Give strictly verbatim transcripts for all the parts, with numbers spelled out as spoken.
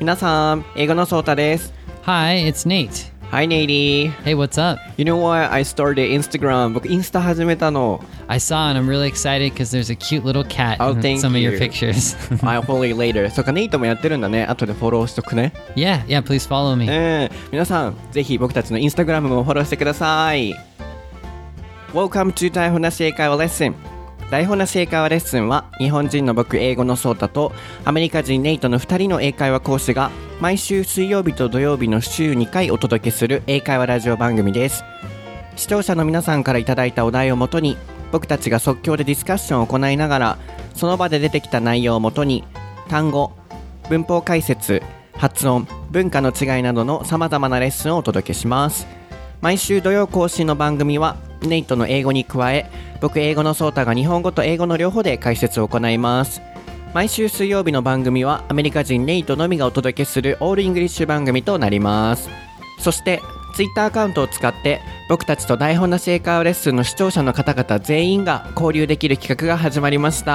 皆さん、英語のソータです。 Hi, it's Nate. Hi, Nate. Hey, what's up? You know what? I started Instagram. 僕、インスタ始めたの。 I saw and I'm really excited because there's a cute little cat Oh, in thank some of your you. pictures. I'll follow you later. そうか、ネイトもやってるんだね。後でフォローしとくね。 yeah, yeah, please follow me. うん。皆さん、ぜひ僕たちのインスタグラムもフォローしてください。Welcome to 台本なし英会話レッスン。台本なし英会話レッスンは日本人の僕英語のソータとアメリカ人ネイトのふたりの英会話講師が毎週水曜日と土曜日の週にかいお届けする英会話ラジオ番組です。視聴者の皆さんからいただいたお題をもとに僕たちが即興でディスカッションを行いながらその場で出てきた内容をもとに単語、文法解説、発音、文化の違いなどのさまざまなレッスンをお届けします。毎週土曜更新の番組はネイトの英語に加え僕英語のソータが日本語と英語の両方で解説を行います。毎週水曜日の番組はアメリカ人ネイトのみがお届けするオールイングリッシュ番組となります。そしてツイッターアカウントを使って僕たちと台本なし英会話レッスンの視聴者の方々全員が交流できる企画が始まりました。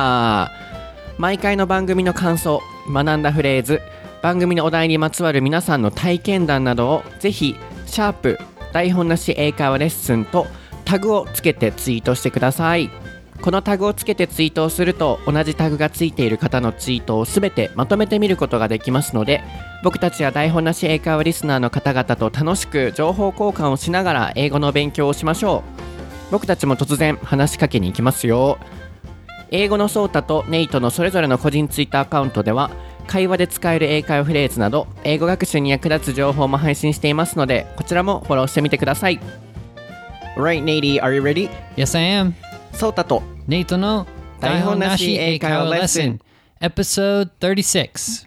毎回の番組の感想、学んだフレーズ、番組のお題にまつわる皆さんの体験談などをぜひシャープ台本なし英会話レッスンとタグをつけてツイートしてください。このタグをつけてツイートをすると同じタグがついている方のツイートをすべてまとめて見ることができますので僕たちや台本なし英会話リスナーの方々と楽しく情報交換をしながら英語の勉強をしましょう。僕たちも突然話しかけに行きますよ。英語のソータとネイトのそれぞれの個人ツイッターアカウントでは会話で使える英会話フレーズなど英語学習に役立つ情報も配信していますのでこちらもフォローしてみてください。Right, Nate, are you ready? Yes, I am. ソータとネイトの台本なし英会話レッスン Episode thirty-six.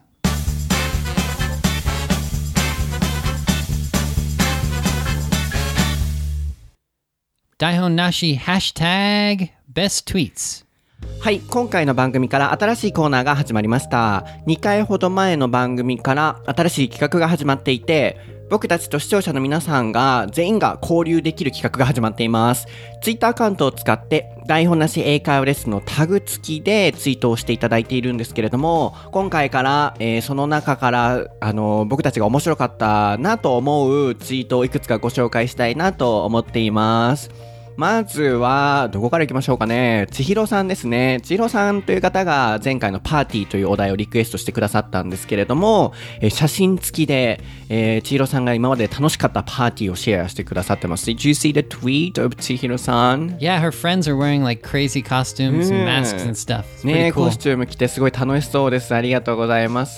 台本なし Hashtag Best Tweets。 はい、今回の番組から新しいコーナーが始まりました。にかいほど前の番組から新しい企画が始まっていて僕たちと視聴者の皆さんが全員が交流できる企画が始まっています。ツイッターアカウントを使って台本なし英会話レッスンのタグ付きでツイートをしていただいているんですけれども今回から、えー、その中からあの僕たちが面白かったなと思うツイートをいくつかご紹介したいなと思っています。まずはどこから行きましょうかね。千尋さんですね。千尋さんという方が前回のパーティーというお題をリクエストしてくださったんですけれども、えー、写真付きで、えー、千尋さんが今まで楽しかったパーティーをシェアしてくださってます。Did you see the tweet of 千尋さん? Yeah, her friends are wearing like crazy costumes and masks and stuff. It's ね、 pretty cool. コスチューム着てすごい楽しそうです。ありがとうございます。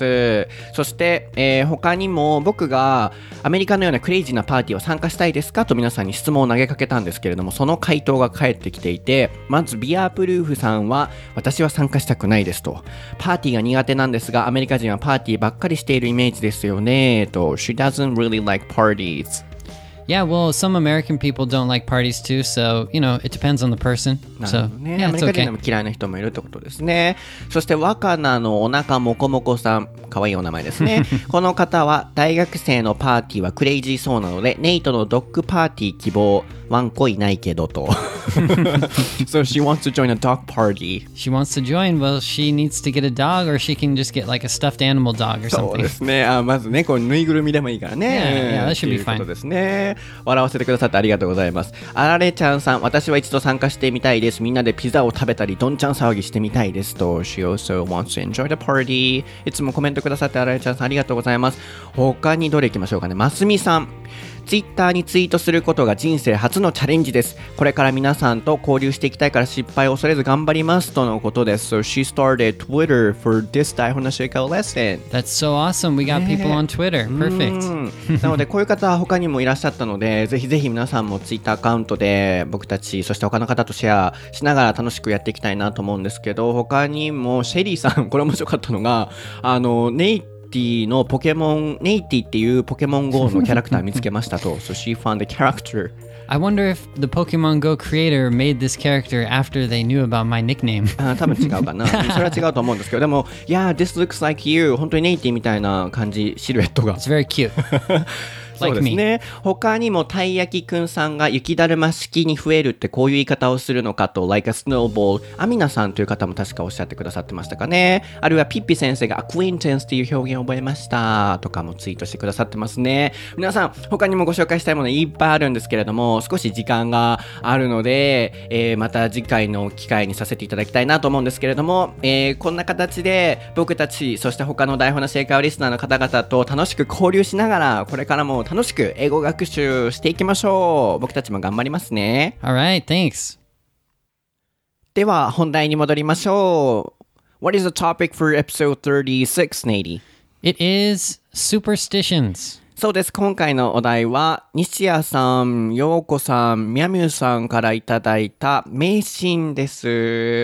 そして、えー、他にも僕がアメリカのようなクレイジーなパーティーを参加したいですかと皆さんに質問を投げかけたんですけれどもその回答が返ってきていてまずビアプルーフさんは私は参加したくないですとパーティーが苦手なんですがアメリカ人はパーティーばっかりしているイメージですよねと She doesn't really like parties.Yeah, well, some American people don't like parties too, so, you know, it depends on the person. なるほどね。アメリカ人でも嫌いな人もいるってことですね。そして若菜のお腹もこもこさん、かわいいお名前ですね。この方は大学生のパーティーはクレイジーそうなので、ネイトのドッグパーティー希望、ワンコいないけどと。So she wants to join a dog party. She wants to join, well, she needs to get a dog or she can just get like a stuffed animal dog or something. そうですね。あまずね、こうぬいぐるみでもいいからね。 Yeah, yeah, that should be fine. ということですね。笑わせてくださってありがとうございます。あられちゃんさん、私は一度参加してみたいです。みんなでピザを食べたり、どんちゃん騒ぎしてみたいですと。She also wants to enjoy the party. いつもコメントくださってあられちゃんさんありがとうございます。他にどれ行きましょうかね。ますみさん。ツイッターにツイートすることが人生初のチャレンジです。これから皆さんと交流していきたいから失敗を恐れず頑張りますとのことです。So she started Twitter for this 台本なし英会話レッスン。 That's so awesome. We got people on Twitter. Perfect. なのでこういう方は他にもいらっしゃったのでぜひぜひ皆さんもツイッターアカウントで僕たちそして他の方とシェアしながら楽しくやっていきたいなと思うんですけど他にもシェリーさんこれ面白かったのがあのネイティのポケモンネイティっていうポケモン ゴー のキャラクター見つけましたとSo she found the character I wonder if the Pokemon Go creator made this character after they knew about my nickname あ多分違うかなそれは違うと思うんですけどでも Yeah, this looks like you 本当にネイティみたいな感じシルエットが It's very cute そう like です me. ね。他にもたい焼きくんさんが雪だるま式に増えるってこういう言い方をするのかと like a snowball アミナさんという方も確かおっしゃってくださってましたかね。あるいはピッピ先生が acquaintance っていう表現を覚えましたとかもツイートしてくださってますね。皆さん他にもご紹介したいものいっぱいあるんですけれども、少し時間があるので、えー、また次回の機会にさせていただきたいなと思うんですけれども、えー、こんな形で僕たちそして他の台本の正解リスナーの方々と楽しく交流しながらこれからも楽しく英語学習していきましょう。僕たちも頑張りますね。 Alright, thanks. では本題に戻りましょう。 What is the topic for episode thirty-six, Nady? It is superstitions. そうです。今回のお題は西谷さん、陽子さん、みゃみゅさんからいただいた迷信です。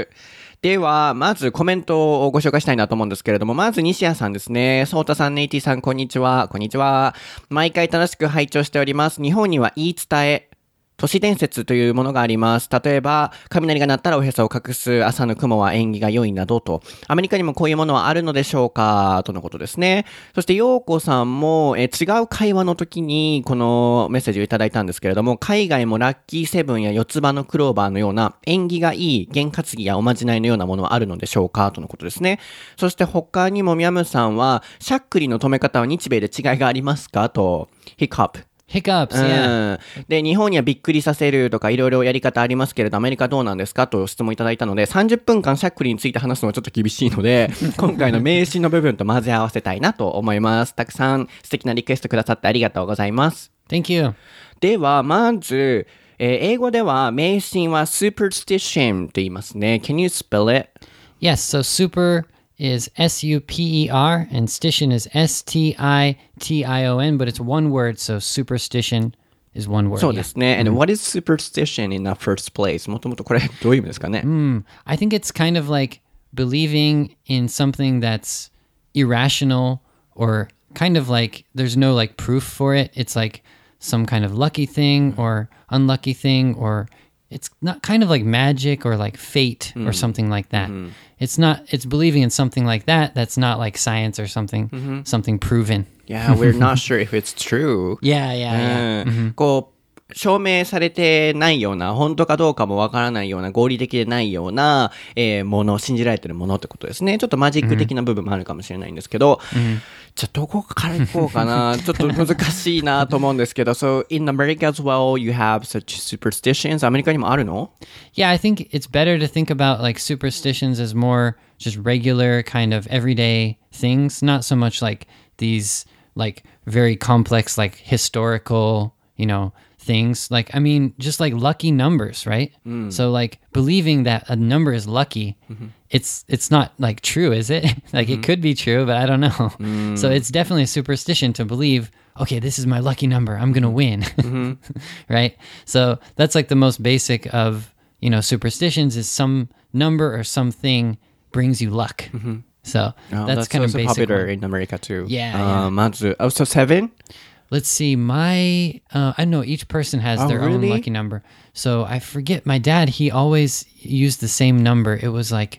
ではまずコメントをご紹介したいなと思うんですけれども、まず西谷さんですね。ソータさん、ネイティさん、こんにちは。こんにちは。毎回楽しく拝聴しております。日本には言い伝え、都市伝説というものがあります。例えば雷が鳴ったらおへそを隠す、朝の雲は縁起が良いなどと。アメリカにもこういうものはあるのでしょうかとのことですね。そして陽子さんもえ違う会話の時にこのメッセージをいただいたんですけれども、海外もラッキーセブンや四つ葉のクローバーのような縁起がいい験担ぎやおまじないのようなものはあるのでしょうかとのことですね。そして他にもミャムさんはしゃっくりの止め方は日米で違いがありますかと。ヒックアップ Hiccups, yeah. うん、で日本にはびっくりさせるとかいろいろやり方ありますけれど、アメリカどうなんですかと質問いただいたので、さんじゅっぷんかんしゃっくりについて話すのはちょっと厳しいので今回の迷信の部分と混ぜ合わせたいなと思います。たくさん素敵なリクエストくださってありがとうございます。 Thank you. ではまず、えー、英語では迷信は superstition と言いますね。 Can you spell it? Yes, so super is S U P E R and stition is S T I T I O N, but it's one word, so superstition is one word. そうですね。 And what is superstition in the first place? もともとこれどういう意味ですかね。 Mm, I think it's kind of like believing in something that's irrational or kind of like there's no like proof for it. It's like some kind of lucky thing or unlucky thing, or it's not kind of like magic or like fate or something like that. It's not, it's believing in something like that that's not like science or something, something proven. Yeah, we're not sure if it's true. Yeah, yeah, yeah. うん、こう証明されてないような、本当かどうかもわからないような、合理的でないような、えー、もの、信じられてるものってことですね。ちょっとマジック的な部分もあるかもしれないんですけど、じゃあどこから行こうかな。ちょっと難しいなと思うんですけど、So in America as well, you have such superstitions. アメリカにもあるの？ Yeah, I think it's better to think about like superstitions as more just regular kind of everyday things, not so much like these like very complex like historical, you know, things. Like, I mean, just like lucky numbers, right? Mm. So like believing that a number is lucky, mm-hmm. it's it's not like true, is it? Like mm-hmm. it could be true, but I don't know. Mm. So it's definitely a superstition to believe, okay, this is my lucky number, I'm gonna win. Mm-hmm. Right? So that's like the most basic of, you know, superstitions is some number or something brings you luck. Mm-hmm. So oh, that's, that's kind of basic popular one. in America too. Yeah, uh, yeah. まず、oh, so seven? Let's see, my, uh, I don't know, each person has oh, their really? own lucky number. So I forget, my dad, he always used the same number. It was like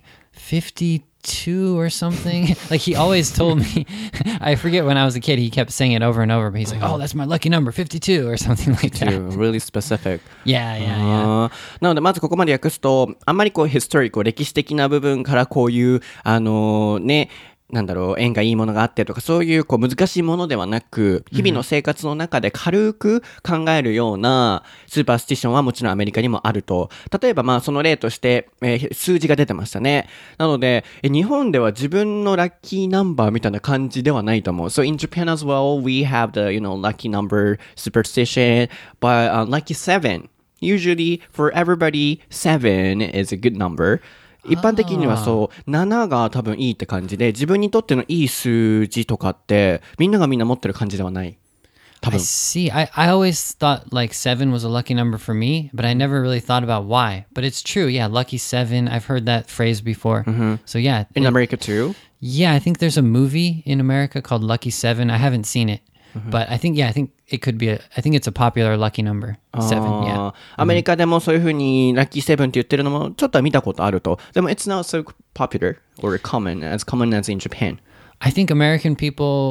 fifty-two or something. Like he always told me, I forget when I was a kid, he kept saying it over and over, but he's like, oh, that's my lucky number, fifty-two or something like that. Really specific. Yeah, yeah, yeah. なのでまずここまで訳すと、あんまりこうヒストリック、歴史的な部分からこういう、あのー、ね、なんだろう、縁がいいものがあってとか、そういうこう難しいものではなく、日々の生活の中で軽く考えるようなスーパースティションはもちろんアメリカにもあると。例えばまあその例として、えー、数字が出てましたね。なので、日本では自分のラッキーナンバーみたいな感じではないと思う。So in Japan as well, we have the, you know, lucky number superstition, but、uh, lucky seven. Usually for everybody, seven is a good number.一般的にはそうななが多分いいって感じで、自分にとってのいい数字とかってみんながみんな持ってる感じではない。多分。 I see. I, I always thought like seven was a lucky number for me, but I never really thought about why. But it's true. Yeah, lucky seven. I've heard that phrase before. Mm-hmm. So yeah. In it, America too? Yeah, I think there's a movie in America called Lucky Seven. I haven't seen it.、Mm-hmm. But I think, yeah, I think it could be a, I think it's a popular lucky number. Seven, yeah. アメリカでもそういう風にラッキーセブンって言ってるのもちょっとは見たことあると。でも it's not so popular or common as common as in Japan. I think American people,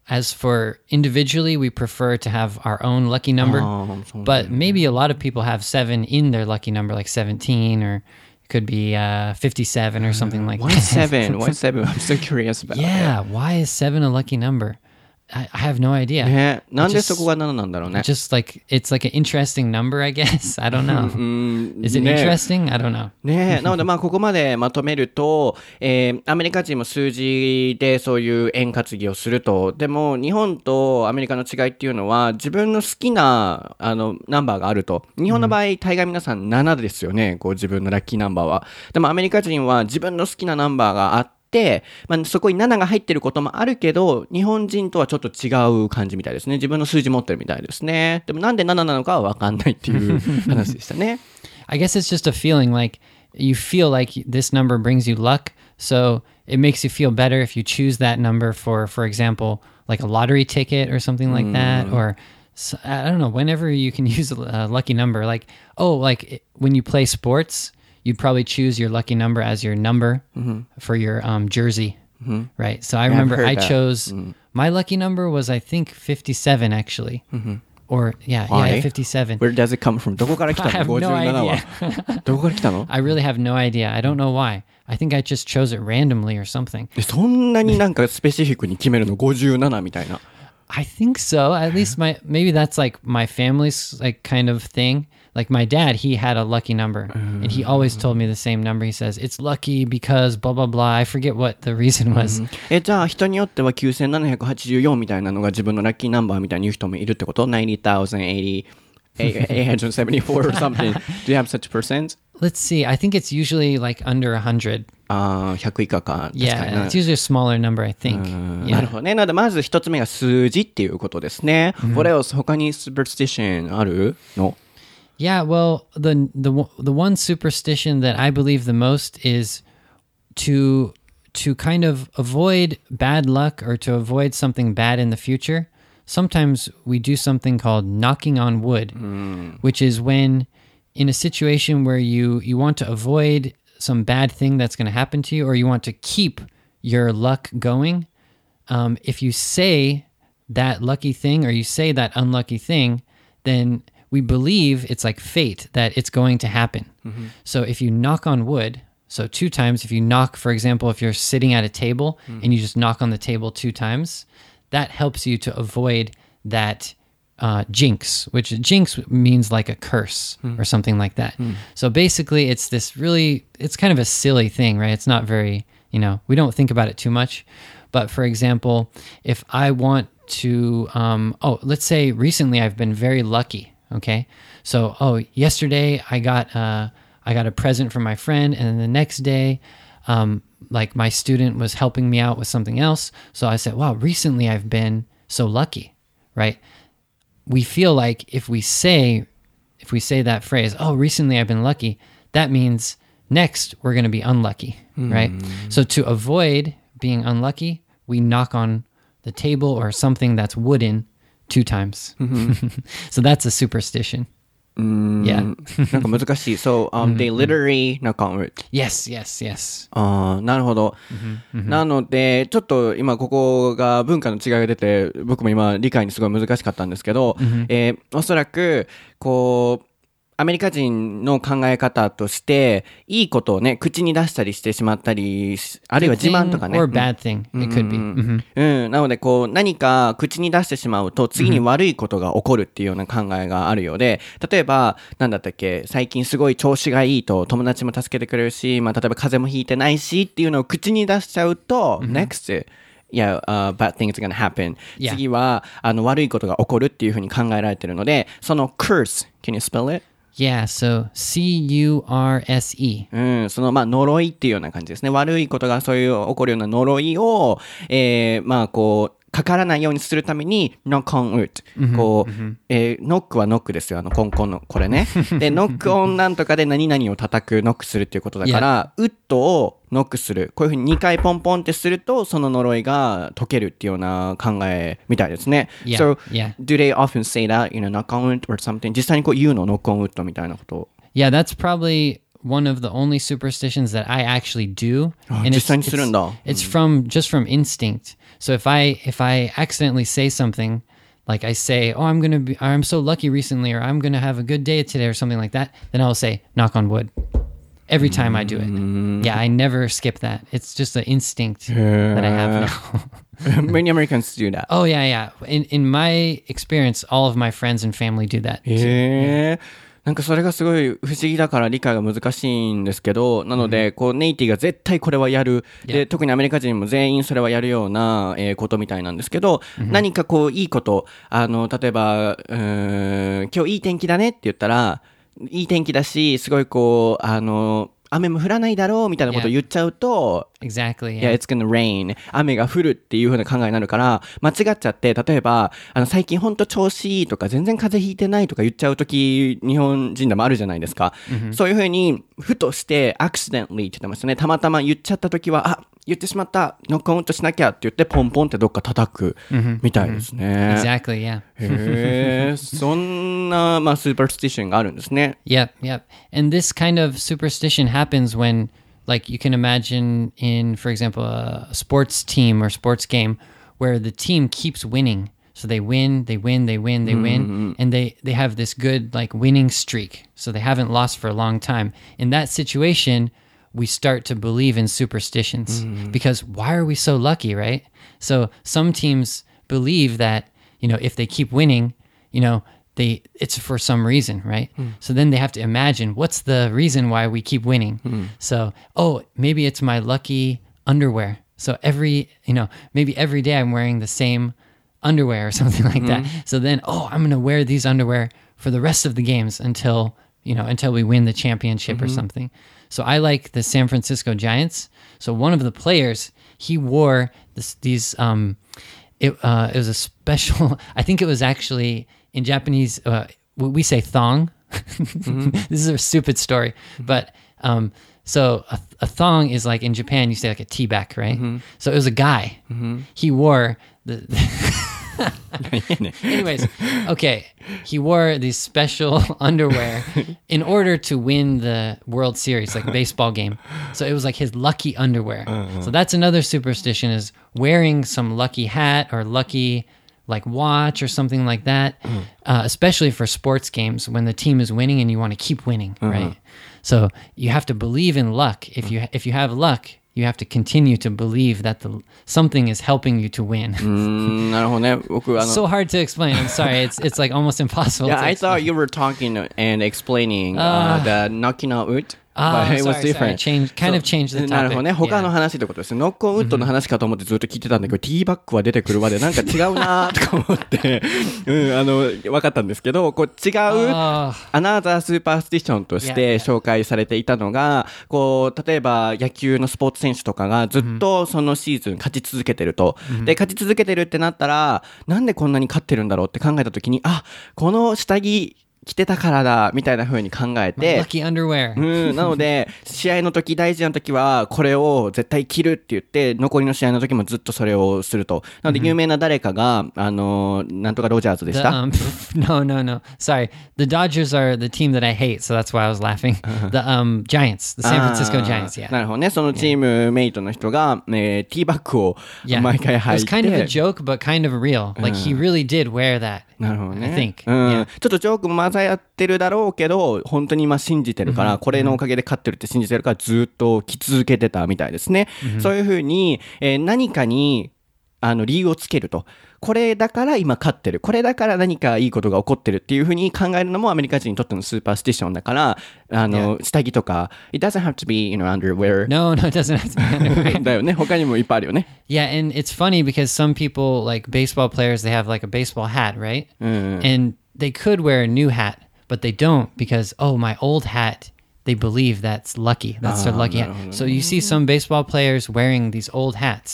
as for individually, we prefer to have our own lucky number. Oh, so but maybe a lot of people have seven in their lucky number, like seventeen, or it could be uh, fifty-seven or something like Why that. seven? Why seven? I'm so curious about Yeah, why is seven a lucky number? I, I have no idea. it. ね、なんで just- そこがなななんだろうね。 Just like it's like an interesting number, I guess. I don't know. うん、 Is it ね interesting? I don't know. ねえ、なのでまあここまでまとめると、えーアメリカ人も数字でそういう円担ぎをすると。でも日本とアメリカの違いっていうのは自分の好きなあのナンバーがあると。日本の場合、大概皆さんななですよね。こう自分のラッキーナンバーは。でもアメリカ人は自分の好きなナンバーがあって、で、まあ、そこにななが入ってることもあるけど、日本人とはちょっと違う感じみたいですね。自分の数字持ってるみたいですね。でもなんでなななのかは分かんないっていう話でしたね。 I guess it's just a feeling like you feel like this number brings you luck. So it makes you feel better if you choose that number for, for example, like a lottery ticket or something like that. Or s- I don't know, whenever you can use a, a lucky number, like, oh, like when you play sports, you'd probably choose your lucky number as your number for your um, jersey, right? So I I've remember heard I that. chose, my lucky number was, I think, fifty-seven actually. Or, yeah, Why? yeah, fifty-seven. Where does it come from? どこから来 I た have の no ごじゅうなな は idea. どこから来たの I really have no idea. I don't know why. I think I just chose it randomly or something. えそんなになんかスペシフィックに決めるのごじゅうななみたいな。 I think so. At least my maybe that's like my family's like kind of thing. Like my dad, he had a lucky number, and he always told me the same number. He says it's lucky because blah blah blah. I forget what the reason was. え、じゃあ人によってはきゅうせんななひゃくはちじゅうよんみたいなのが自分のラッキーナンバーみたいに言う人もいるってこと ?ナインティーサウザンドエイティー、エイトハンドレッドセブンティーフォー or something. Do you have such percent? Let's see. I think it's usually like under a hundred. ああ、ひゃく以下か。確かに Yeah, な it's usually a smaller number. I think. な Yeah. るほどね。なので、まず一つ目が数字っていうことですね。What else? 他に superstition あるの Yeah, well, the the one- the one superstition that I believe the most is to to kind of avoid bad luck or to avoid something bad in the future. Sometimes we do something called knocking on wood, which is when in a situation where you you want to avoid some bad thing that's going to happen to you, or you want to keep your luck going. Um, if you say that lucky thing or you say that unlucky thing, then we believe it's like fate that it's going to happen. So if you knock on wood, so two times, if you knock, for example, if you're sitting at a table and you just knock on the table two times, that helps you to avoid that uh, jinx, which jinx means like a curse or something like that. So basically, it's this really, it's kind of a silly thing, right? It's not very, you know, we don't think about it too much. But for example, if I want to, um, oh, let's say recently I've been very lucky. Okay, so oh, yesterday I got uh, I got a present from my friend, and then the next day, um, like my student was helping me out with something else. So I said, wow, recently I've been so lucky, right? We feel like if we say if we say that phrase, oh, recently I've been lucky, that means next we're going to be unlucky, right? So to avoid being unlucky, we knock on the table or something that's wooden two times. So that's a superstition. Yeah. なんか難しい。So, um, they literally knock on wood. Yes, yes, yes. ああ、なるほど。なので、ちょっと今ここが文化の違いが出て、僕も今理解にすごい難しかったんですけど、えーおそらく、こう、アメリカ人の考え方として、いいことをね、口に出したりしてしまったり、あるいは自慢とかね。 Or bad thing. It could be. Mhm. うん。なので、こう、何か口に出してしまうと、次に悪いことが起こるっていうような考えがあるようで、例えば、なんだったっけ、最近すごい調子がいいと、友達も助けてくれるし、まあ、例えば風邪もひいてないしっていうのを口に出しちゃうと、next, yeah, uh, bad things are gonna happen. Yeah. 次は、あの、悪いことが起こるっていうふうに考えられてるので、その curse, can you spell it? Yeah, so C U R S E. うん、その、まあ、呪いっていうような感じですね。悪いことがそういう起こるような呪いを、えー、まあ、こう、かからないようにするために、knock on wood。こう、えー、ノックはノックですよ。あの、コンコンの、これね。で、ノックオンなんとかで何々を叩く、ノックするっていうことだから、ウッドをノックする。こういうふうににかいポンポンってすると、その呪いが解けるっていうような考えみたいですね。 Yeah, So, yeah. do they often say that, you know, knock on wood or something? 実際にこう言うの、ノックオンウッドみたいなことを。 Yeah, that's probably one of the only superstitions that I actually do. あ、 And 実 it's, 際にするんだ。 it's, it's from just from instinct. So if I if I accidentally say something, like I say, "Oh, I'm gonna be, I'm so lucky recently," or "I'm gonna have a good day today," or something like that, then I'll say, "Knock on wood." Every time I do it. Yeah, I never skip that. It's just an instinct that I have now. Many Americans do that. Oh yeah, yeah. In in my experience, all of my friends and family do that. へえ。なんかそれがすごい不思議だから理解が難しいんですけど、なので、こう、ネイティが絶対これはやる。で、特にアメリカ人も全員それはやるような、えーことみたいなんですけど、何かこう、いいこと、あの、例えば、うーん、今日いい天気だねって言ったら、いい天気だし、すごいこう、あの、雨も降らないだろうみたいなことを言っちゃうと、 Exactly. Yeah, Yeah. it's gonna rain. 雨が降るっていう風な考えになるから、間違っちゃって、例えば、あの、最近ほんと調子いいとか、全然風邪ひいてないとか言っちゃうとき、日本人でもあるじゃないですか。Mm-hmm. そういう風に、ふとして、accidentally って言ってましたね。たまたま言っちゃったときは、あ、言ってしまった。ノックオンとしなきゃって言って、ポンポンってどっか叩く、みたいですね。 Exactly, yeah. へー、そんな、まあ、スーパースティションがあるんですね。 Yep, yep. And this kind of superstition happens when, like, you can imagine in, for example, a sports team or sports game where the team keeps winning. So they win, they win, they win, they win, and they, they have this good, like, winning streak. So they haven't lost for a long time. In that situation, we start to believe in superstitions because why are we so lucky, right? So some teams believe that, you know, if they keep winning, you know, they it's for some reason, right? So then they have to imagine what's the reason why we keep winning. So, oh, maybe it's my lucky underwear. So every, you know, maybe every day I'm wearing the same underwear or something like that. So then, oh, I'm going to wear these underwear for the rest of the games until, you know, until we win the championship or something. So I like the San Francisco Giants. So one of the players, he wore this, these, um, it, uh, it was a special, I think it was actually in Japanese, uh, we say thong. Mm-hmm. This is a stupid story, but, um, so a, a thong is like in Japan, you say like a tea back, right? Mm-hmm. So it was a guy. Mm-hmm. He wore the, the anyways, okay. He wore these special underwear in order to win the World Series, like baseball game. So it was like his lucky underwear. Uh-huh. So that's another superstition is wearing some lucky hat or lucky like watch or something like that, uh-huh. uh, especially for sports games when the team is winning and you want to keep winning, uh-huh. right? So you have to believe in luck. If you if you have luck, you have to continue to believe that the something is helping you to win. なるほどね。僕あの so hard to explain. I'm sorry. It's it's like almost impossible. Yeah, to I explain. thought you were talking and explaining uh, the knocking out wood. Ah, but it was sorry, different. sorry. Change, kind of changed the topic. なるほどね。他の Yeah. 話ってことですね。ノックオンウッドの話かと思ってずっと聞いてたんだけど、ティーバッグは出てくるまでなんか違うなとか思って、うん、あの、分かったんですけど、こう違う、 Oh. アナザースーパースティションとして紹介されていたのが、こう、例えば野球のスポーツ選手とかがずっとそのシーズン勝ち続けてると。で、勝ち続けてるってなったら、なんでこんなに勝ってるんだろうって考えたときに、あ、この下着、着てたからだみたいな風に考えて Lucky underwear. うん、なので試合の時大事な時はこれを絶対着るって言って残りの試合の時もずっとそれをすると。なので有名な誰かがあのなんとかロジャーズでし The, た um, no, no, no. Sorry. The Dodgers are the team that I hate, so that's why I was laughing. The um, Giants, the San Francisco あー Giants, yeah. なるほどね。そのチームメイトの人が、えー、ティーバッグを Yeah. 毎回 It 履 was い kind of a て joke, but kind of real. Like he really did wear that. なるほどね。 I think. うん Yeah. ちょっとジョークも混ざってるだろうけど、本当に今信じてるから、これのおかげで勝ってるって信じてるから、ずっと着続けてたみたいですね。そういうふうに、えー何かに、あの、理由をつけると。これだから今勝ってる。これだから何かいいことが起こってるっていうふうに考えるのもアメリカ人にとってのスーパースティションだから、あの、下着とか、it doesn't have to be, you know, underwear. No, no, it doesn't have to be underwear. だよね。他にもいっぱいあるよね。 Yeah, and it's funny because some people, like baseball players, they have like a baseball hat, right? And they could wear a new hat, but they don't because, oh, my old hat, they believe that's lucky. That's their lucky hat. So you see some baseball players wearing these old hats,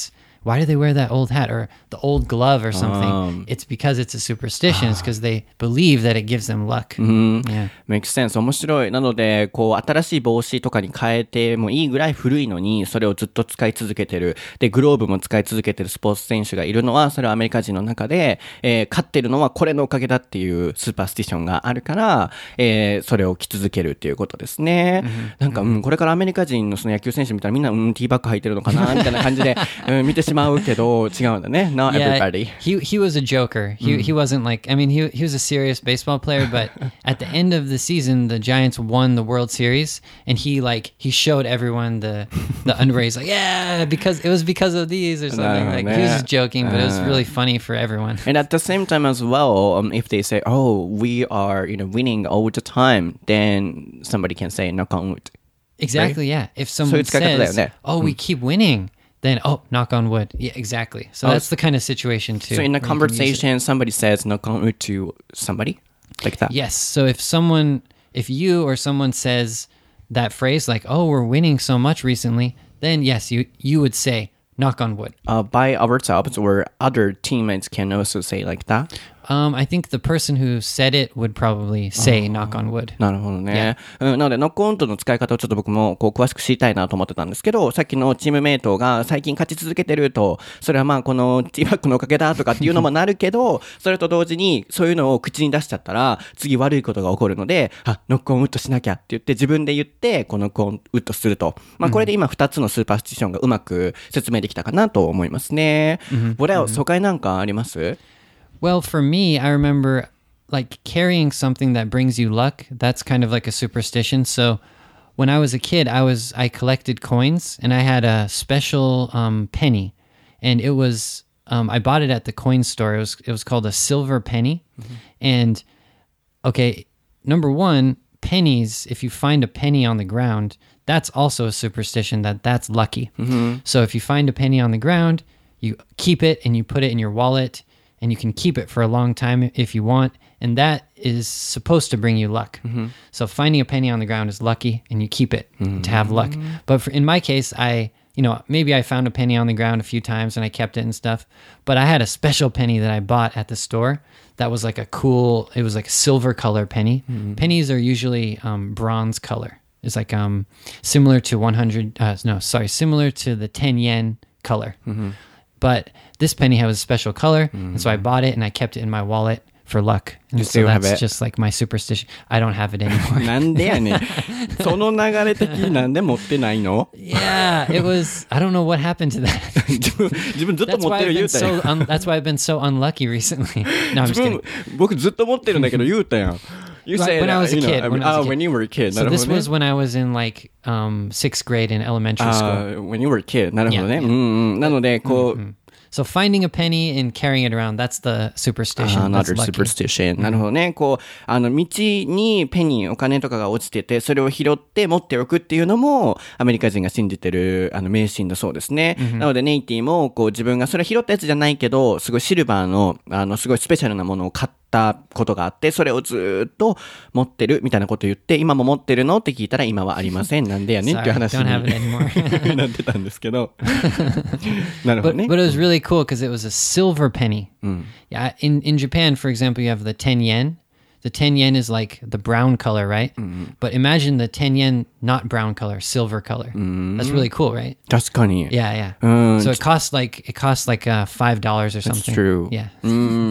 why do they wear that old hat or the old glove or something? Um. It's because it's a superstition. It's because they believe that it gives them luck. Yeah. Makes sense. 面白い。なので、こう、新しい帽子とかに変えてもいいぐらい古いのに、それをずっと使い続けてる。で、グローブも使い続けてるスポーツ選手がいるのは、それはアメリカ人の中で、えー、勝ってるのはこれのおかげだっていうスーパースティションがあるから、えー、それを着続けるっていうことですね。Mm-hmm. なんか、うん、これからアメリカ人のその野球選手見たらみんな、うん、ティーバッグ履いてるのかなみたいな感じで、うん、見てしまうけど、違うんだね。Not yeah, everybody. He, he was a joker. He, mm. he wasn't like, I mean, he, he was a serious baseball player, but at the end of the season, the Giants won the World Series, and he like, he showed everyone the, the underwear. He's like, yeah, because it was because of these or something. Like, he was just joking, but it was really funny for everyone. And at the same time as well, um, if they say, oh, we are, you know, winning all the time, then somebody can say, knock on wood. Exactly, right? Yeah. If someone so says, oh, we keep winning, then, oh, knock on wood. Yeah, exactly. So oh, that's the kind of situation, too. So in a conversation, somebody says, knock on wood to somebody? Like that? Yes. So if someone, if you or someone says that phrase, like, oh, we're winning so much recently, then yes, you, you would say, knock on wood. Uh, by ourselves or other teammates can also say like that? Um, I think the person who said it would probably say knock on wood. なるほどね。Yeah. うん、なので、ノックオンとの使い方をちょっと僕もこう詳しく知りたいなと思ってたんですけど、さっきのチームメイトが最近勝ち続けてると、それはまあこのティーバッグのおかげだとかっていうのもなるけど、それと同時にそういうのを口に出しちゃったら、次悪いことが起こるので、あ、ノックオンウッドしなきゃって言って自分で言って、このノックオンウッドすると。まあこれで今ふたつのスーパースティションがうまく説明できたかなと思いますね。 Mm-hmm. What else? 他になんかあります？ Well, for me, I remember like carrying something that brings you luck. That's kind of like a superstition. So when I was a kid, I was I collected coins and I had a special um, penny, and it was um, I bought it at the coin store. It was it was called a silver penny, mm-hmm. and okay, number one, pennies. If you find a penny on the ground, that's also a superstition that that's lucky. Mm-hmm. So if you find a penny on the ground, you keep it and you put it in your wallet. And you can keep it for a long time if you want. And that is supposed to bring you luck. Mm-hmm. So finding a penny on the ground is lucky, and you keep it mm-hmm. to have luck. But for, in my case, I, you know, maybe I found a penny on the ground a few times and I kept it and stuff. But I had a special penny that I bought at the store that was like a cool, it was like a silver color penny. Mm-hmm. Pennies are usually um, bronze color. It's like um, similar to one hundred, uh, no, sorry, similar to the ten yen color. Mm-hmm. But this penny has a special color, mm-hmm. and so I bought it and I kept it in my wallet for luck. And you so still that's have it? Just like my superstition. I don't have it anymore. なんでやねん。その流れ的になんで持ってないの？ Yeah, it was, I don't know what happened to that. 自分、自分ずっと持ってる言うたやん。 So un, that's why I've been so unlucky recently. No, I'm just kidding. 僕ずっと持ってるんだけど言うたやん。You said when I was a kid. You know, when, I was a oh, kid. when you were a kid. So this was when I was in like um, sixth grade in elementary school. Uh, when you were a kid. なるほどね。うんうん。なので、こう、 mm-hmm. So finding a penny and carrying it around, that's the superstition. Uh, another superstition. なるほどね。こう、あの、道にペニー、お金とかが落ちてて、それを拾って持っておくっていうのも、アメリカ人が信じてる、あの、迷信だそうですね。Mm-hmm. なので、ネイティも、こう、自分がそれ拾ったやつじゃないけど、すごいシルバーの、あの、すごいスペシャルなものを買ったことがあって、それをずっと持ってるみたいなこと言って、今も持ってるのって聞いたら、今はありません。なんでやねんっていう話になってたんですけど。なるほどね。 But, but it was really cool because it was a silver penny. Mm. Yeah, in, in Japan, for example, you have the ten yen. The ten yen is like the brown color, right? Mm. But imagine the ten yen not brown color, silver color. Mm. That's really cool, right? 確かに。 Yeah, yeah. Mm. So it costs like it costs like uh, five dollars or something. That's true. Yeah. うん。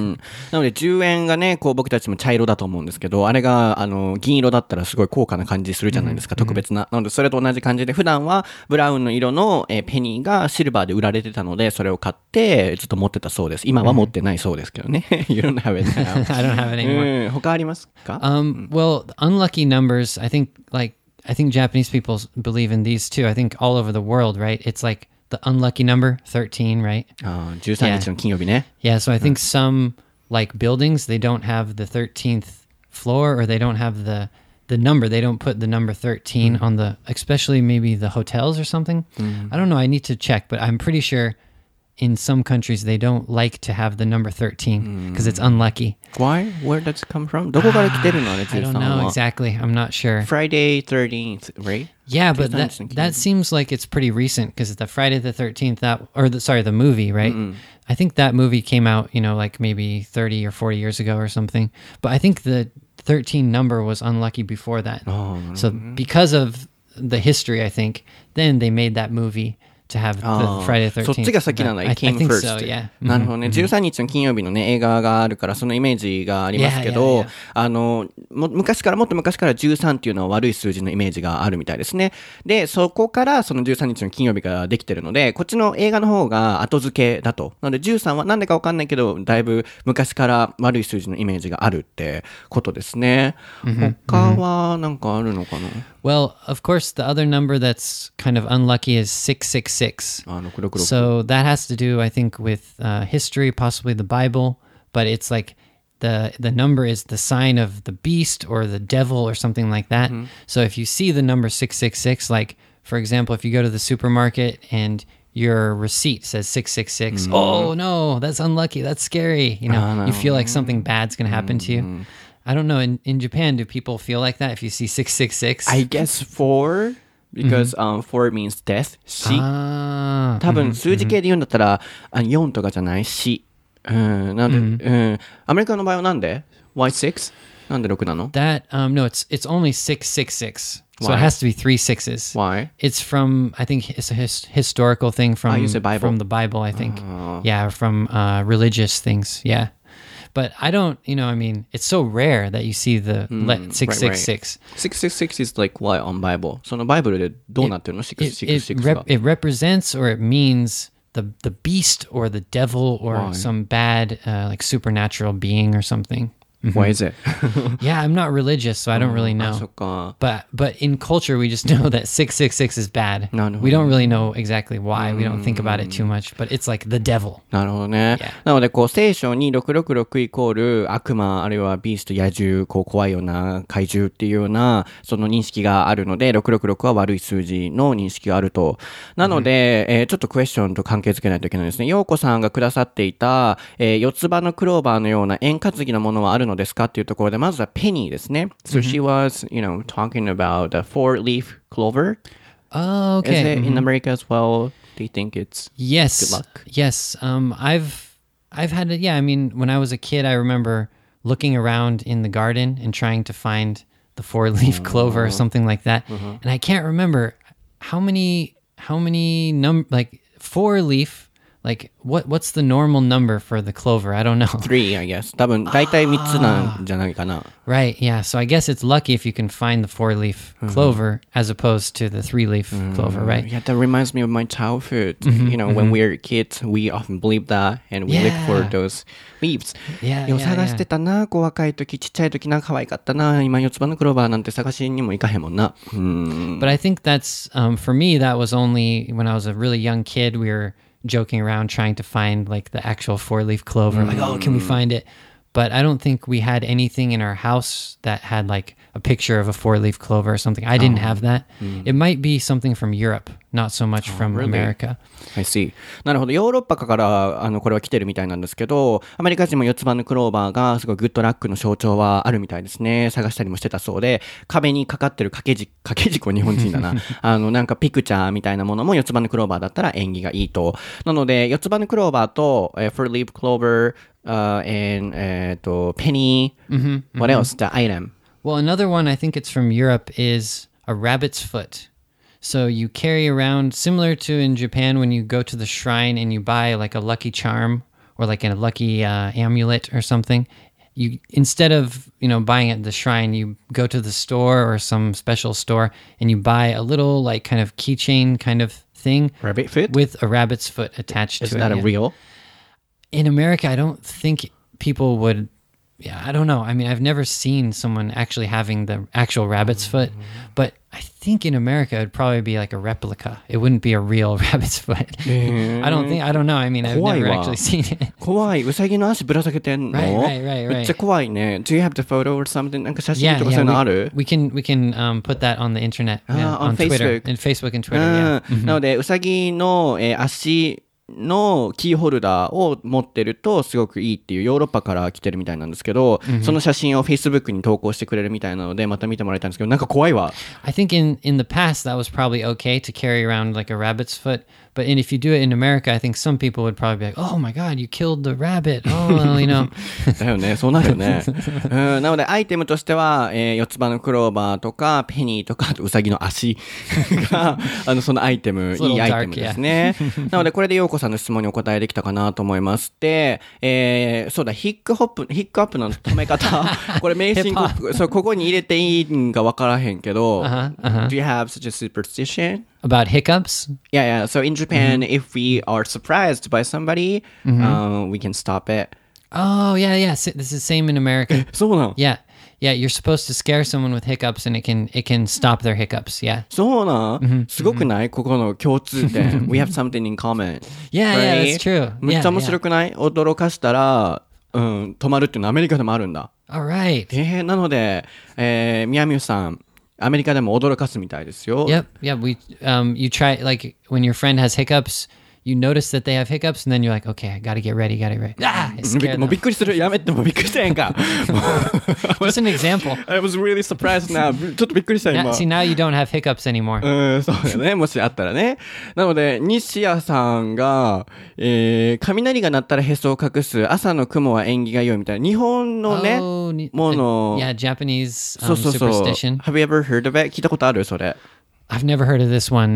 なのでじゅうえんがね、こう僕たちも茶色だと思うんですけど、あれがあの銀色だったらすごい高価な感じするじゃないですか、mm. 特別な。なのでそれと同じ感じで、普段はブラウンの色の、えー、ペニーがシルバーで売られてたので、それを買ってずっと持ってたそうです。今は持ってないそうですけどね。You don't have it now. I don't have it anymore. うん。他ありますか ？Um, well, unlucky numbers, I think, like, I think Japanese people believe in these too. I think all over the world, right? It's like the unlucky number, thirteen, right? ああ、じゅうさんにちの金曜日ね。 Yeah, so I think some, like, buildings, they don't have the thirteenth floor, or they don't have the, the number. They don't put the number thirteen on the, especially maybe the hotels or something. I don't know. I need to check, but I'm pretty sure in some countries they don't like to have the number thirteen because it's unlucky. Why? Where does it come from? どこから来てるのね、 I don't know exactly. I'm not sure. Friday thirteenth, right? Yeah, but じゅうさんに that ちの金曜 that 日 seems like it's pretty recent because the Friday the thirteenth that or the sorry the movie right. I think that movie came out you know like maybe thirty or forty years ago or something. But I think the thirteen number was unlucky before that. So because of the history, I think then they made that movie to have the あー Friday the そ thirteenth. っちが先なんだ。 I, I It came think first. so. Yeah. なるほどね。じゅうさんにちの金曜日のね、映画があるから、そのイメージがありますけど、 Yeah, yeah, yeah. あの、も昔から、もっと昔からじゅうさんっていうのは悪い数字のイメージがあるみたいですね。で、そこからそのじゅうさんにちの金曜日ができてるので、こっちの映画の方が後付けだと。なのでじゅうさんはなんでかわかんないけど、だいぶ昔から悪い数字のイメージがあるってことですね。他はなんかあるのかな？ Well, of course, the other number that's kind of unlucky is six six six. あ、ろくろくろく。 So that has to do, I think, with uh, history, possibly the Bible. But it's like the the number is the sign of the beast or the devil or something like that. So if you see the number six six six, like, for example, if you go to the supermarket and your receipt says six six six, oh, no, that's unlucky. That's scary. You know, Ah, no. you feel like something bad's going to happen to you. I don't know. In, in Japan, do people feel like that if you see six six six? I guess four, because、um, four means death. 死。 Ah. 多分数字系で言うんだったら、あよんとかじゃない死。うん、なんで、うん、アメリカの場合はなんで ?Why six? なんでろくなの That um no, it's it's only six six six. So Why? it has to be three sixes. Why? It's from I think it's a his, historical thing from you said Bible. from the Bible. I think, yeah, from uh, religious things. Yeah, but I don't. You know, I mean, it's so rare that you see the le- six six six. six six six is like what on Bible? そのバイブルでどうなってるの It, it, ?six six six が。 rep- it represents or it means the the beast or the devil or Why? some bad uh, like supernatural being or something. Why is it? Yeah, I'm not religious, so I don't really あ、 know. そっか。 But but in culture, we just know that six six six is bad. No, no, we don't really know exactly why. We don't think about it too much, but it's like the devil. なるほどね。 Yeah. なので、こう、聖書にろくろくろくイコール悪魔、あるいはビースト、野獣、こう、怖いような怪獣っていうような、その認識があるので、ろくろくろくは悪い数字の認識があると。なので、えーちょっとクエスチョンと関係づけないといけないですね。ようこさんがくださっていた、えー、四つ葉のクローバーのような円担ぎのものはあるのですかっていうところで、まずはペニーですね。So she was, you know, talking about the four-leaf clover. Oh, Is okay. it in America as well? Do you think it's Yes. good luck? Yes. Um, I've I've had it. Yeah. I mean, when I was a kid, I remember looking around in the garden and trying to find the four-leaf clover or something like that. And I can't remember how many how many num like four-leaf. Like what what's the normal number for the clover? I don't know. Three, I guess. 多分、大体三つなんじゃないかな。 Right, yeah. So I guess it's lucky if you can find the four-leaf clover as opposed to the three-leaf clover, right? Yeah, that reminds me of my childhood. You know, when we were kids, we often believe that, and we look for Yeah. those leaves. Yeah, よ yeah, 探してたな、こう若い時、ちっちゃい時な、可愛かったな、今四つ葉のクローバーなんて探しにも行かへんもんな。うん。 But I think that's um, for me. That was only when I was a really young kid. We were joking around trying to find like the actual four-leaf clover. Like, oh, can we find it? But I don't think we had anything in our house that had like a picture of a four-leaf clover or something. I didn't have that. It might be something from Europe, not so much from really? America. I see. なるほど。ヨーロッパからあのこれは来てるみたいなんですけど、アメリカ人も四つ葉のクローバーがすごいグッドラックの象徴はあるみたいですね。探したりもしてたそうで、壁にかかってる掛け軸、掛け軸は日本人だな。あのなんかピクチャーみたいなものも四つ葉のクローバーだったら縁起がいいと。なので四つ葉のクローバーと、えー、four leaf clover、uh, and えっと penny. What else? The item. Well, another one, I think it's from Europe, is a rabbit's foot. So you carry around, similar to in Japan when you go to the shrine and you buy like a lucky charm or like a lucky uh, amulet or something. You instead of, you know, buying it at the shrine, you go to the store or some special store and you buy a little like kind of keychain kind of thing. Rabbit foot? With a rabbit's foot attached Is to it. that a yeah. real? In America, I don't think people would. Yeah, I don't know. I mean, I've never seen someone actually having the actual rabbit's foot, but I think in America it'd probably be like a replica. It wouldn't be a real rabbit's foot. I don't think. I don't know. I mean, I've 怖い never わ。 actually seen it. 怖い。ウサギの足ぶら下げてんの Right, right, right, right. めっちゃ怖いね。Do you have the photo or something? なんか写真 Yeah, とかそういうの yeah. ある We, we can we can um, put that on the internet, yeah, Ah, on Twitter, Facebook. and Facebook and Twitter. うん Yeah. なので、ウサギの、えー足のキーホルダーを持ってるとすごくいいっていうヨーロッパから来てるみたいなんですけど、mm-hmm. その写真を Facebook に投稿してくれるみたいなのでまた見てもらいたいんですけど、なんか怖いわ。 I think in, in the past that was probably okay to carry around like a rabbit's foot, but in, if you do it in America, I think some people would probably be like, oh my god, you killed the rabbit. Oh, you know. だよね、そうなるよね。うん、なのでアイテムとしては、えー、四つ葉のクローバーとかペニーとかあとウサギの足があのそのアイテムいいアイテムですね。なのでこれで陽子さんの質問にお答えできたかなと思います。で、えー、そうだヒックホップヒックアップの止め方これ名詞そうここに入れていいんが分からへんけど、uh-huh, uh-huh. Do you have such a superstition about hiccups? Yeah, yeah. So in Japan, mm-hmm. if we are surprised by somebody, mm-hmm. uh, we can stop it. Oh yeah, yeah. This is the same in America. そうなの? Yeah. Yeah, you're supposed to scare someone with hiccups and it can it can stop their hiccups. Yeah. そうなん？すごくない？ここの共通点。We have something in common. Yeah, yeah, that's true. めっちゃ面白くない？驚かしたら、うん、止まるっていうのはアメリカでもあるんだ。 Alright. えー、なので、えー、みやみゆさん、アメリカでも驚かすみたいですよ。 Yep, yeah. We um, you try like when your friend has hiccups.You notice that they have hiccups, and then you're like, okay, I gotta get ready, gotta get ready. Ah, I scared them. もうびっくりする。やめて、もうびっくりしたやんか。 Just an example. I was really surprised now. ちょっとびっくりした今。 See, now you don't have hiccups anymore. うん、そうだよね。もしあったらね。なので、西谷さんが、えー、雷が鳴ったらへそを隠す、朝の雲は縁起が良いみたいな、日本のね、 oh, もの。 Yeah, Japanese、um, そうそうそう。 superstition. Have you ever heard of it? 聞いたことあるそれ。 I've never heard of this one,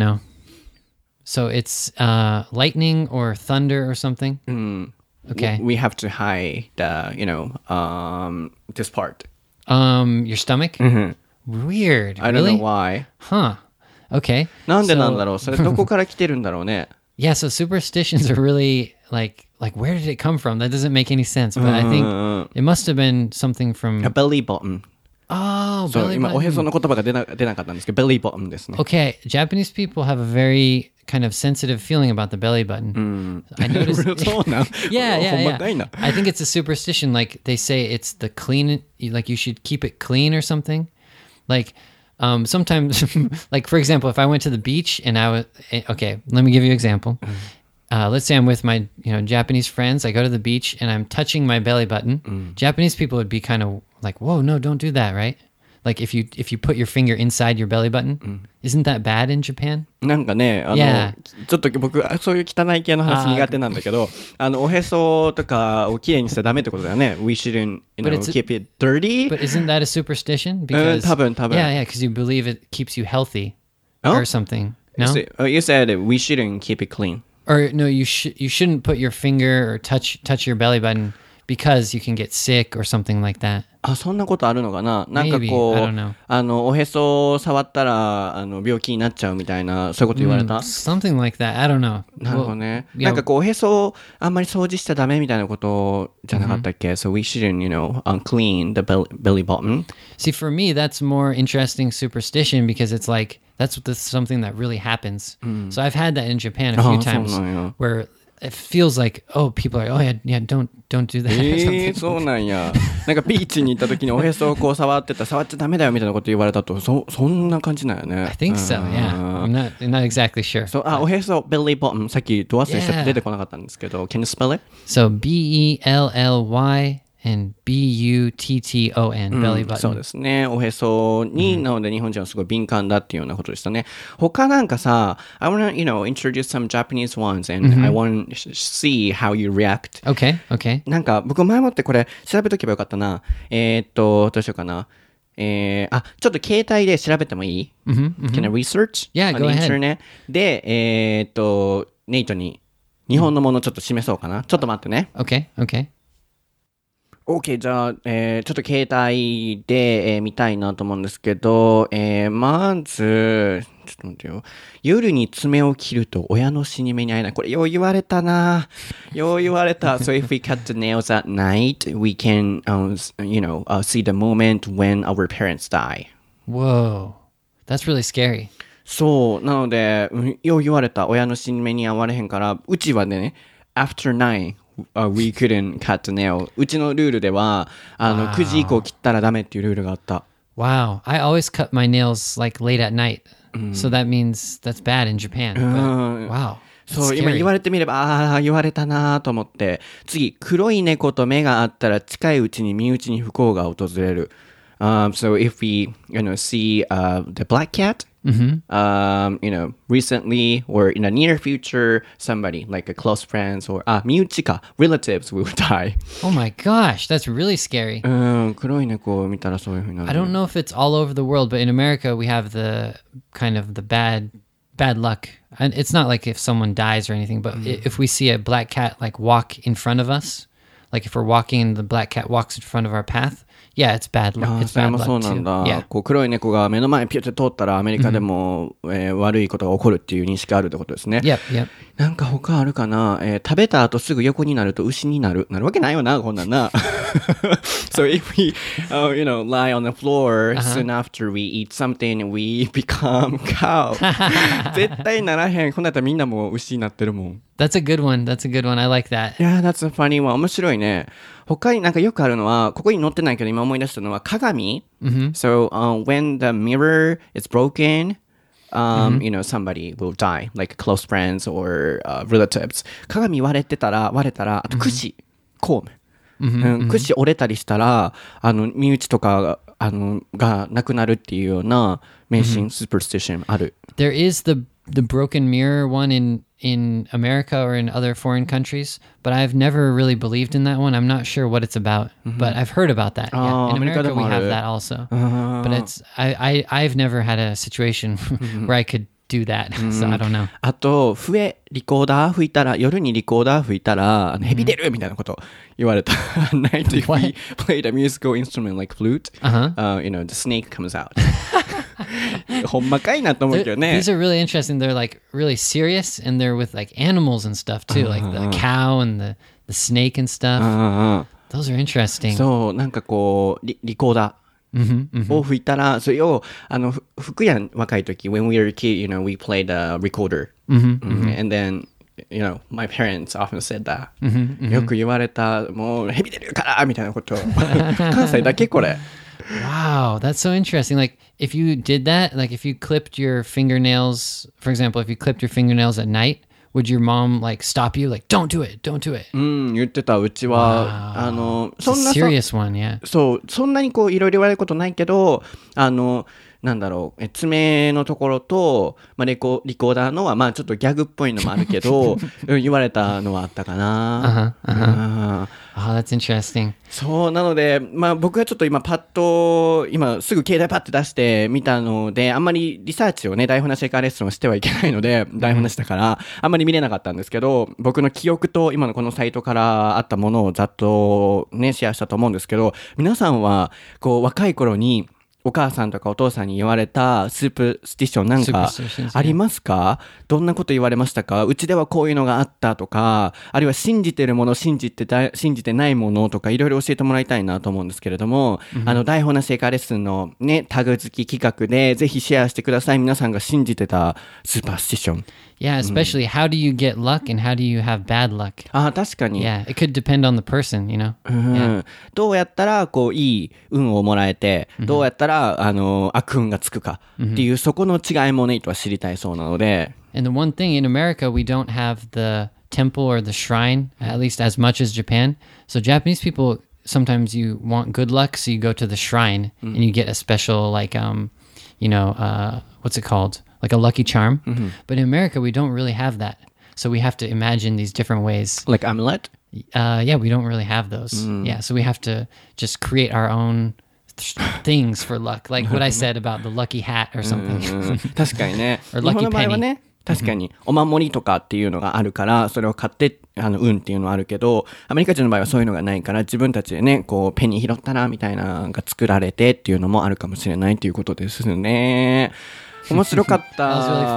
no.So it's uh, lightning or thunder or something? Mm. Okay. We have to hide the, you know, um, this part. Um, your stomach? Mm-hmm. Weird. I really? don't know why. Huh. Okay. なんでなんだろう? それどこから来てるんだろうね? Yeah, so superstitions are really like, like where did it come from? That doesn't make any sense. But I think it must have been something from... A belly button.Oh, belly button. 今おへその言葉が出な、出なかったんですけど、belly button ですね。 Okay, Japanese people have a very kind of sensitive feeling about the belly button. Mm. I noticed. そうなん? yeah, yeah, ほんまかいな。 yeah. I think it's a superstition. Like they say it's the clean, like you should keep it clean or something. Like um, sometimes, like for example, if I went to the beach and I was, okay, let me give you an example. Uh, let's say I'm with my, you know, Japanese friends. I go to the beach and I'm touching my belly button. Mm. Japanese people would be kind of like, whoa, no, don't do that, right? Like if you if you put your finger inside your belly button, mm. isn't that bad in Japan? なんかね、あの、yeah. ちょっと僕そういう汚い系の話苦手なんだけど、あのおへそとかをきれいにしちゃダメってことだよね。We shouldn't, you know, keep it dirty. But isn't that a superstition? Because 多分多分。 Yeah, yeah, because you believe it keeps you healthy or something. No, you said we shouldn't keep it clean. Or no, you should you shouldn't put your finger or touch touch your belly button because you can get sick or something like that. あ、そんなことあるのかな。なんかこう、あのおへそを触ったらあの病気になっちゃうみたいなそういうこと言われた。 Mm, something like that. I don't know. なるほどね。Well, なんかこうおへそをあんまり掃除しちゃダメみたいなことじゃなかったっけ？ So we shouldn't, you know, unclean the belly, belly button. See, for me, that's more interesting superstition because it's like that's the, something that really happens. Mm. So I've had that in Japan a few times where it feels like, oh, people are, oh yeah, yeah, don't, don't do that. えー、そうなんや。なんかビーチに行った時におへそをこう触ってたら触っちゃダメだよみたいなこと言われたと、そ、そんな感じなんよね。 I think so, yeah. I'm not, I'm not exactly sure. そう、あ、おへそ、belly button、さっきド忘れして出てこなかったんですけど、Can you spell it? So, B E L L Y...And B U T T O N、うん、belly button。 そうですね。おへそに、うん、なので日本人はすごい敏感だっていうようなことでしたね。他なんかさ、I wanna, you know, introduce some Japanese ones and、mm-hmm. I want to see how you react. Okay, okay. なんか僕前もってこれ調べとけばよかったな。えー、っと、どうしようかな。えー、あ、ちょっと携帯で調べてもいい、 mm-hmm, mm-hmm. Can I research? Yeah, go ahead. で、えー、っと、ネイトに日本のものちょっと示そうかな。ちょっと待ってね。 Okay, okay.OK、 じゃあ、えー、ちょっと携帯で、えー、見たいなと思うんですけど、えー、まず、ちょっと待ってよ。夜に爪を切ると親の死に目に会えない。これよう言われたな。よう言われた。So if we cut the nails at night, we can, um, you know, uh, see the moment when our parents die. Whoa. That's really scary. そう。なので、よう言われた。親の死に目に会われへんから、うちはね、after nine,Uh, we couldn't cut the nail. うちのルールではあの wow. くじ以降切ったらダメっていうルールがあった。 Wow, I always cut my nails like late at night. Mm. So that means that's bad in Japan. But, wow. そう、今言われてみれば、ああ、言われたなと思って。次、黒い猫と目があったら近いうちに身内に不幸が訪れる。Um, so if we, you know, see uh, the black cat, Mm-hmm. um, you know, recently or in the near future, somebody like a close friends or ah, 身内か relatives will die. Oh my gosh, that's really scary. うん、黒い猫を見たらそういう風になる。 I don't know if it's all over the world, but in America we have the kind of the bad bad luck. And it's not like if someone dies or anything, but i if we see a black cat like walk in front of us, like if we're walking and the black cat walks in front of our path, yeah, it's bad luck. あー It's それ bad もそう luck なん too. だ、 Yeah. こう黒い猫が目の前にピュッて通ったらアメリカでも、えー悪いことが起こるっていう認識があるってことですね。 Yep, yep. なんか他あるかな、えー食べた後すぐ横になると牛になる。なるわけないよな、こんなんな。So if we, uh, you know, lie on the floor、uh-huh. soon after we eat something, we become cow. 絶対ならへん。こんなんやったらみんなもう牛になってるもん。 That's a good one. That's a good one. I like that. Yeah, that's a funny one. 面白いね。他になんかよくあるのは、ここに載ってないけど今思い出したのは鏡。 Mm-hmm. So、uh, when the mirror is broken,Um, mm-hmm. you know, somebody will die, like close friends or、uh, relatives. 鏡割れてたら、割れたら、あと串、コーム。うん、串折れたりしたら、あの、身内とか、あの、がなくなるっていうような迷信、superstition ある。 There is the the broken mirror one in in America or in other foreign countries, but I've never really believed in that one. I'm not sure what it's about, but I've heard about that. Yeah. In America, we have that also, but it's I, I I've never had a situation where I could do that, so I don't know. あと、笛、リコーダー吹いたら、夜にリコーダー吹いたら、あの蛇出るみたいなこと言われた。Night if we played a musical instrument like flute, uh-huh. uh, you know, the snake comes out. ほんまかいなと思うけどね。 These are really interesting. They're like really serious, and they're with like animals and stuff too, like the cow and the the snake and stuff. Those are interesting. そう、なんかこう、リ, リコーダーを吹いたら、それを、あの、吹くやん、若い時。When we were a kid, you know, we played a recorder. And then, you know, my parents often said that. よく言われた、もう、蛇出るからみたいなこと。関西だけこれ。 Wow, that's so interesting. Like, if you did that, like if you clipped your fingernails, for example, if you clipped your fingernails at night, would your mom like stop you? Like, don't do it, don't do it. うん、言ってた。うちは、あの、 そんな serious one, yeah. そう、そんなにこういろいろ言われることないけど、あの、なんだろう、え爪のところと、まあ、レコリコーダーのは、まあちょっとギャグっぽいのもあるけど、言われたのはあったかな。 Uh-huh, uh-huh. Oh, that's interesting. そう、なので、まあ僕はちょっと今パッと、今すぐ携帯パッて出して見たので、あんまりリサーチをね、台本なしエカーレッスンをしてはいけないので、台本なしだから、あんまり見れなかったんですけど、僕の記憶と今のこのサイトからあったものをざっとね、シェアしたと思うんですけど、皆さんは、こう若い頃に、お母さんとかお父さんに言われたスープスティッションなんかありますか？どんなこと言われましたか？うちではこういうのがあったとか、あるいは信じてるもの、信じてた、信じてないものとかいろいろ教えてもらいたいなと思うんですけれども、mm-hmm. あの台本なしエカーレッスンのね、タグ付き企画でぜひシェアしてください。皆さんが信じてたスーパースティッション。 Yeah, especially、mm. how do you get luck and how do you have bad luck? ああ、確かに。 Yeah, it could depend on the person, you know? うん、yeah. どうやったら、こう、いい運をもらえて、mm-hmm. どうやったら、あの、悪運がつくかっていう、mm-hmm. そこの違いもね、とは知りたいそうなので。 And the one thing, in America, we don't have the temple or the shrine, at least as much as Japan. So Japanese people, sometimes you want good luck, so you go to the shrine、mm. and you get a special, like, um, you know, uh, what's it called?Like a lucky charm. But in America, we don't really have that. So we have to imagine these different ways. Like amulet? Uh, yeah, we don't really have those.、Mm. Yeah, so we have to just create our own th- things for luck. Like what I said about the lucky hat or something. 確かにね。 or lucky 日本の場合はね、確かにお守りとかっていうのがあるから、それを買ってあの運っていうのはあるけど、アメリカ人の場合はそういうのがないから、自分たちでね、こうペニー拾ったなみたいなのが作られてっていうのもあるかもしれないということですね。面白かった。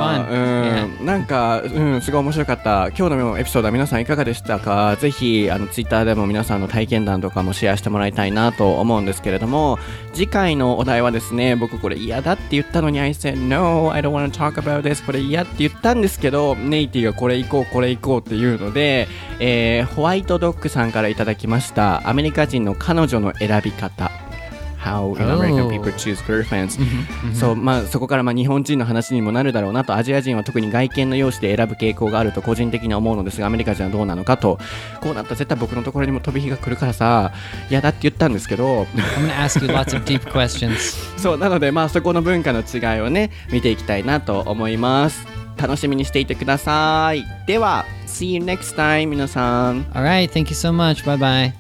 really うん、なんか、うん、すごい面白かった。今日のエピソードは皆さんいかがでしたか？ぜひあのツイッターでも皆さんの体験談とかもシェアしてもらいたいなと思うんですけれども、次回のお題はですね、僕これ嫌だって言ったのに I said no, I don't want to talk about this これ嫌って言ったんですけど、ネイティがこれ行こうこれ行こうっていうので、えー、ホワイトドッグさんからいただきましたアメリカ人の彼女の選び方。 how you know, American people choose girlfriends、そうまあ、そこからまあ日本人の話にもなるだろうなと、アジア人は特に外見の容姿で選ぶ傾向があると個人的に思うのですが、アメリカ人はどうなのかと。こうなったら絶対僕のところにも飛び火が来るからさ、嫌だって言ったんですけど I'm gonna ask you lots of deep questions そうなので、まあ、そこの文化の違いをね見ていきたいなと思います。楽しみにしていてください。では See you next time 皆さん。 Alright, thank you so much. Bye bye.